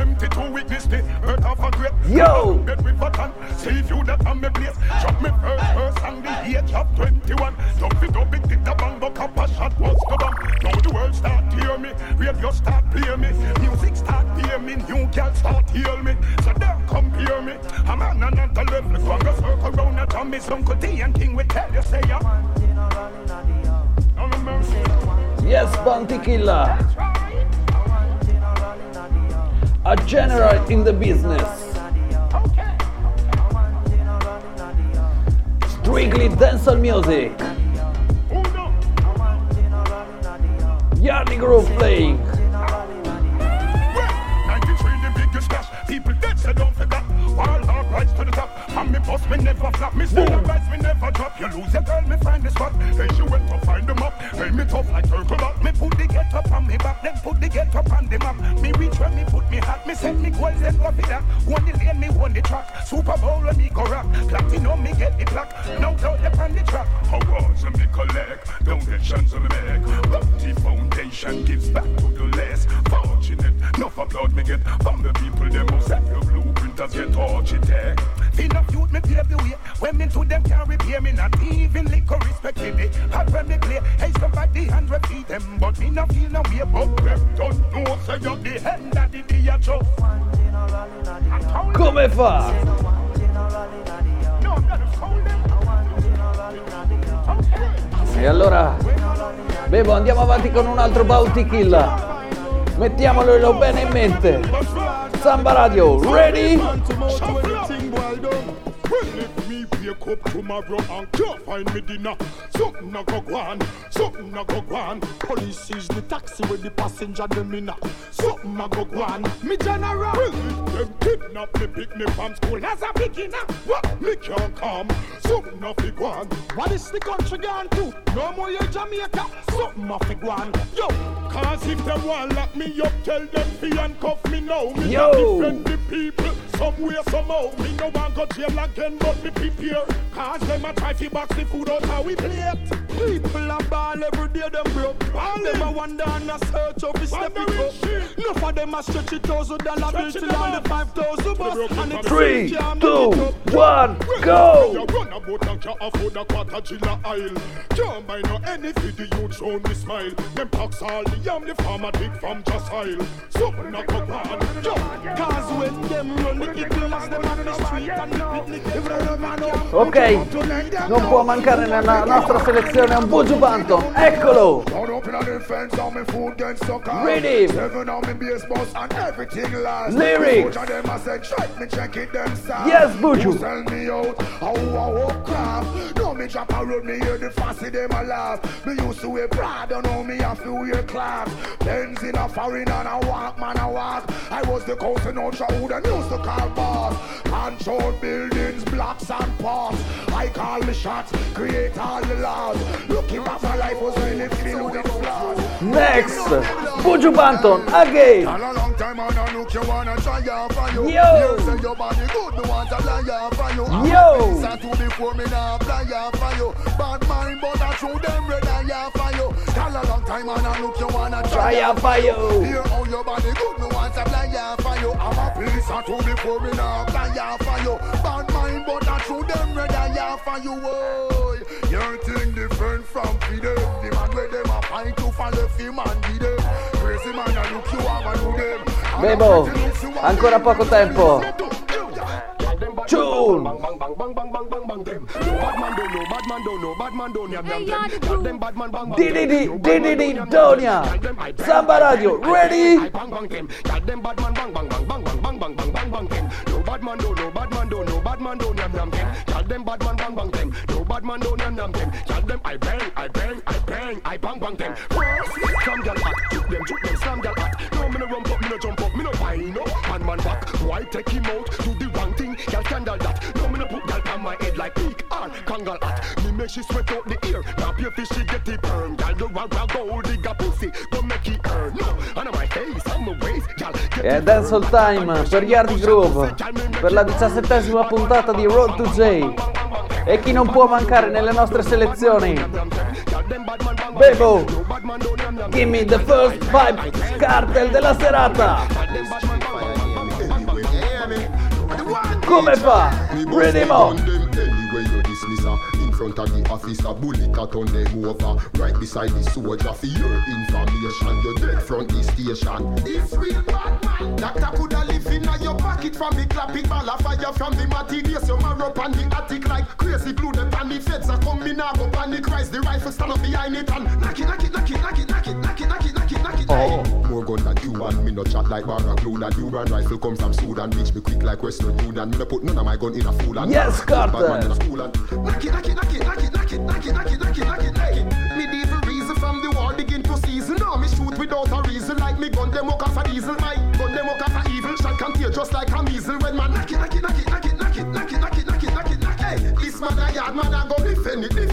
Yo! Save you that on me place. Drop me first verse on the age of twenty-one. Don't be don't be did the bang, but cup a shot was the bomb. Now the world start hear me, radio start play me, music start hear me, new girl start heal me. So don't compare me. I'm on another level. Go and go circle round the town. Miss Uncle D and King will tell you say ya. Yes, Bounty Killer. A general in the business. Strictly dancehall music. Yardi Groove playing. never flop. Me still advise me never drop. You lose your girl, me find the spot. Then she went to find them up. Hey, me tough like turtle up. Me put the get up on me back, then put the get up on the map. Me reach where me put me hat. Me set me goals, then go for that. One the lane, me won the track. Super Bowl when me go rock. Platinum, me get the plaque. No doubt upon the track. Awards and me collect. Donations on me make. Bounty Foundation gives back to the less fortunate. Enough applaud me get from the people. Them who set your blueprinters get architect. Enough youth me pave the way. When me to them can't repay me. Not even liquor respect me. They hot when me play. Hey, somebody hand repeat them. But me not feel no way. But them don't know. Say you're the hand that the day you show. Come fa? E allora, Bebo, andiamo avanti con un altro bounty kill. Mettiamolo bene in mente. Samba Radio, ready? Wake up tomorrow and can't find me dinner. Something a go on, something a go on. Police is the taxi with the passenger them in. Something a go on. Me general. Well, them kidnap me, pick me from school as a beginner. What? Me can't come. Something a fi go on. What is the country gone to? No more you Jamaica. Something a fi go on. Yo, cause if them want lock me up, tell them fi handcuff me now. Me Yo. defend the people somewhere somehow. Me no want go jail again, but me prepare. Cause them a try to box the food out how we play it. People a ball every day, them broke. All them a wonder and a search of his step it up. Enough of them a stretch it thousand dollar bill till on the five thousand bus. And it's Three, two, one, go! You run about and can't afford a quarter chiller aisle. Can't buy no any for the youth round the smile. Them tax all the yam the farmer dig from just aisle. Something a go on. Cause when them run the eagles, them on the street and the picnic. Ok, non può mancare nella nostra selezione un Buju Banton, eccolo! Ready! Lyrics! Yes, Buju! No, me drop a road, me hear the fussy, them a laugh. Me used to wear Prada, now me have to wear class. Benz in a foreign and a walk, man a walk. I was the cousin ultra who them used to call boss. Control buildings, blocks and parts. I call the shots, create all the laws. Looking back, my life was really filled with flaws. Next, Buju Banton again. A long time on a look, you wanna try out for you. Yo. You say your body good, me want to fly out for you. Yo. I'm a to before me now fly out for you. Bad mind, but I through them red eye out for you. Tell a long time on a look, you wanna try out for you. Hear how your body good, me want to fly out for you. I'm a police, I to before me now fly out for you. Bad mind, but I through them red eye out for you. Oh, your thing different from freedom. The man where them a fight to follow film and be them. Crazy man, I look you have and do them. Bebo, ancora poco tempo. Tune! D D D, D D D, Donia! Samba Radio, ready? No bad man do, no bad man do, no bad man do, yam yam them. Tell them bad man bang bang them. No bad man do, yam yam them. Tell them I bang, I bang, I bang, I bang bang them. Slam gal hot, shoot them, shoot them, slam gal hot. No me no rump up, me no jump up, me no whine up. Man man back, why take him out? Do the wrong thing, gal scandal that. No me no put gal on my head like peak or kangal hat. Me make she sweat out the ear. Now pure fish she get it burn. Gal do rag rag go digga pussy, go make it earn. No, on my face, on my waist, gal. E Dancehall Time per Yardi Groove, per la diciassettesima puntata di Road to J. E chi non può mancare nelle nostre selezioni? Bebo, give me the first vibe cartel della serata. Come fa? Rhythm in front of the officer, bullet cut on them over. Right beside the soldier for your information. You're dead front the station. This real bad man. Doctor coulda live in your pocket from the clapping ball of fire from the materials. You mark up on the attic like crazy glue. The panic feds are coming now. Go panic rise. The rifle stand up behind it and knock it, knock it, knock it, knock it, knock it, knock it, knock it, knock it, knock it. Oh, more gun than you and me no chat like Barra glue. That you run rifle come from Sudan. Reach me quick like Western Union. Me no put none of my gun in a fool and yes, Carter. Knock it, knock it, knock it, knock it, knock it, knock it, knock it, knock it, knock it, knock it, knock it. Medieval reason from the war begin to season. Now me shoot without a reason like me gun them walk off a diesel. My gun them walk off a evil. Shot contagious like a measle when man knock it, knock it, knock it, knock it, knock it, knock it, knock it, knock it, knock it, knock it. Hey,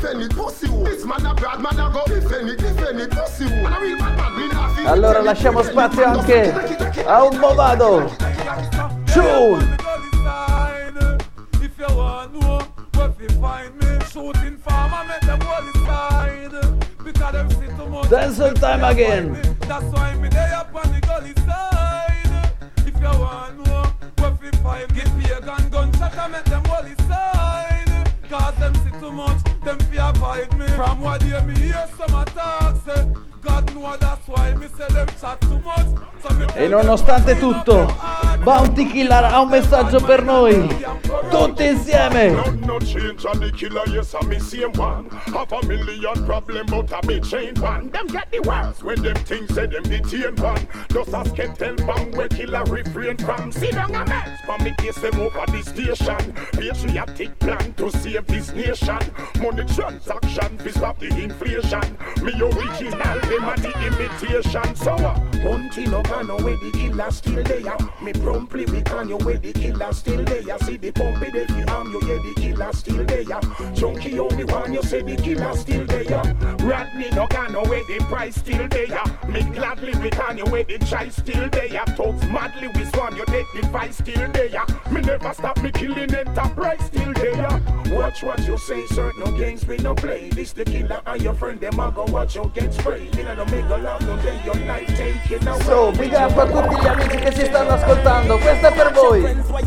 defend it, pussy. This man a bad man a go defend it, defend it, pussy. Man a real bad man, me nah feel. Allora lasciamo spazio anche a un movado. Tune. If you want to know where you find me, shooting farmer make them hold it side. Because them see too much. Dancehall time again. That's why me they up on the gully side. If you want to know where you find me, give me a gun, gunshot and make them hold it side. Cause them see too much, them fear avoid me. From what they me hear some attacks, say God know that's why me say them chat too much. So me E nonostante tutto, Bounty Killer ha un messaggio per noi. Tutti insieme. No change on the killer, yes, I'm the same one. Half a million problem, but I'm a chain one. Them get the worst when them things say them detain one. Just a skeleton bomb where killer refrain from. See down a mess, for me case them over the station. Patriotic plan to save this nation. Money transaction, to stop the inflation. Me original, them are the imitation. So uh, one thing no can know where the killer still there. Me promptly we can you where the killer still there. See the pump it if you arm you, yeah, the killer still there. Junkie only one, you say the killer still there. Rodney no can know where the price still there. Me gladly we can you where the try still there. Talks madly we swan you take the fight still there. Me never stop me killing enterprise still there. Watch what you say, certain no games we no play. This the killer and your friend them a go watch you get sprayed. You know make a love no day your life taking away. So, big up a tutti gli amici che si stanno ascoltando, questa è per voi.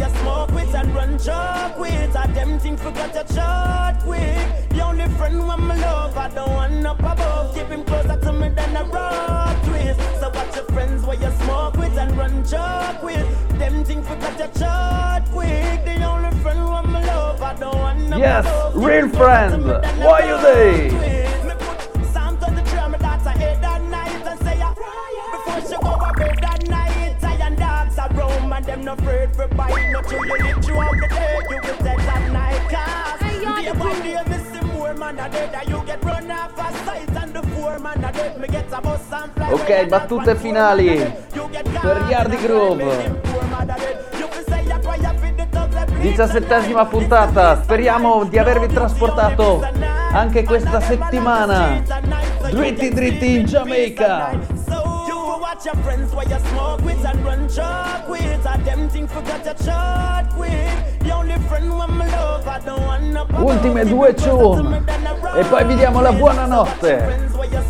The only friend when my love, I don't want up above. Keep him closer to me than a rock twist. So watch your friends where you smoke with and run joke with. Them things forgot your short quick. The only friend when my love, I don't want up Yes, above. real friend. Why you they? Me put Psalm twenty-three on my daughter head that night and say ya. Before she go to bed that night, iron dogs are roam and them no afraid for bite. No true, you live throughout the day, you will dead that night. Cause day by day, missing more man a dead, and you get run off a sight and the four man a dead. Me get a bus and fly. Ok, battute finali per Yardi Groove. diciassettesima puntata, speriamo di avervi trasportato anche questa settimana dritti dritti in Giamaica. Watch your friends while you smoke with and run chalk with. I them think forgot your short with. The only friend when my love, I don't want no. Ultime due tune e poi vi diamo la buonanotte.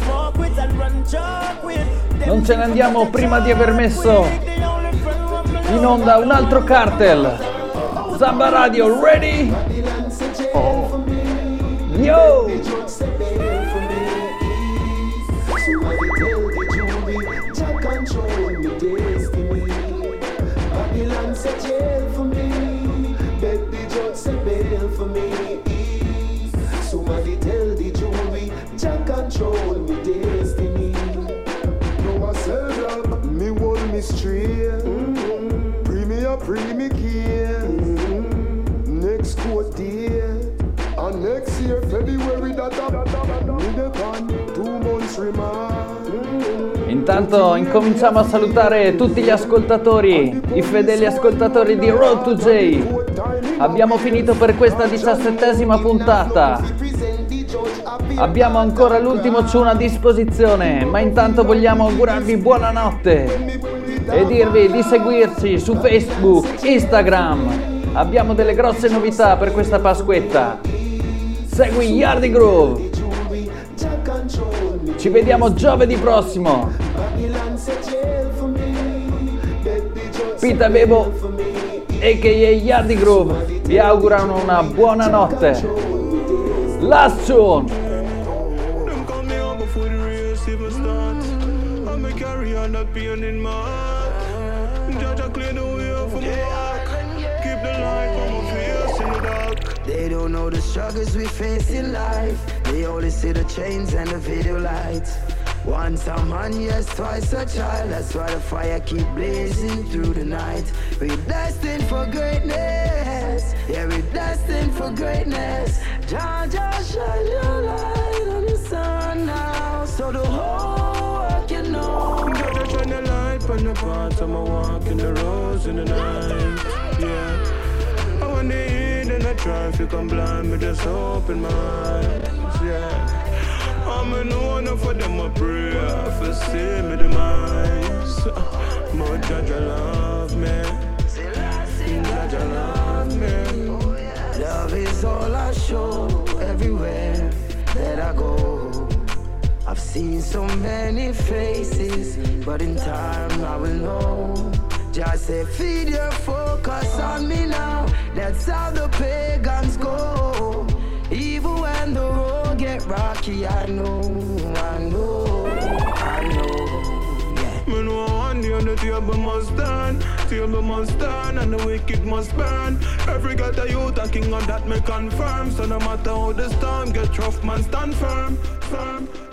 Non ce ne andiamo prima di aver messo in onda un altro cartel. Samba Radio, ready? Oh. Yo! Say jail for me, beg the judge say bail for me. Somebody tell the jury, Jah control me destiny. No I serve up, me hold me straight. Mm-hmm. Pre me up, pre me care. Mm-hmm. Next court date, and next year February that me depend two months remand. Mm-hmm. Intanto incominciamo a salutare tutti gli ascoltatori, i fedeli ascoltatori di Road to J. Abbiamo finito per questa diciassettesima puntata. Abbiamo ancora l'ultimo tune a disposizione, ma intanto vogliamo augurarvi buonanotte e dirvi di seguirci su Facebook, Instagram. Abbiamo delle grosse novità per questa Pasquetta. Segui Yardi Groove. Ci vediamo giovedì prossimo. Pita Bebo a k a. Yardi Groove vi augurano una buona notte. Last tune. They don't know the struggles we face in life. They only see the chains and the video lights. Once a man, yes, twice a child. That's why the fire keep blazing through the night. We're destined for greatness. Yeah, we're destined for greatness. Jah, Jah, shine your light on the sun now, so the whole world can know. Jah, Jah, shine the light on the path of my walk in the roads in the night. Yeah. I want to eat and I try if you come blind, but just open my eyes. yeah. I'm a no one for them a prayer for see me demise. But Jaja love me, Jaja love me. Love is all I show everywhere that I go. I've seen so many faces, but in time I will know. Just say feed your focus on me now. That's how the pagans go. Even when the road get rocky, I know, I know, I know. Yeah. Me know one day the table must turn, table must turn, and the wicked must burn. Every ghetto youth a king of that me confirm. So no matter how the storm get rough, man stand firm, firm.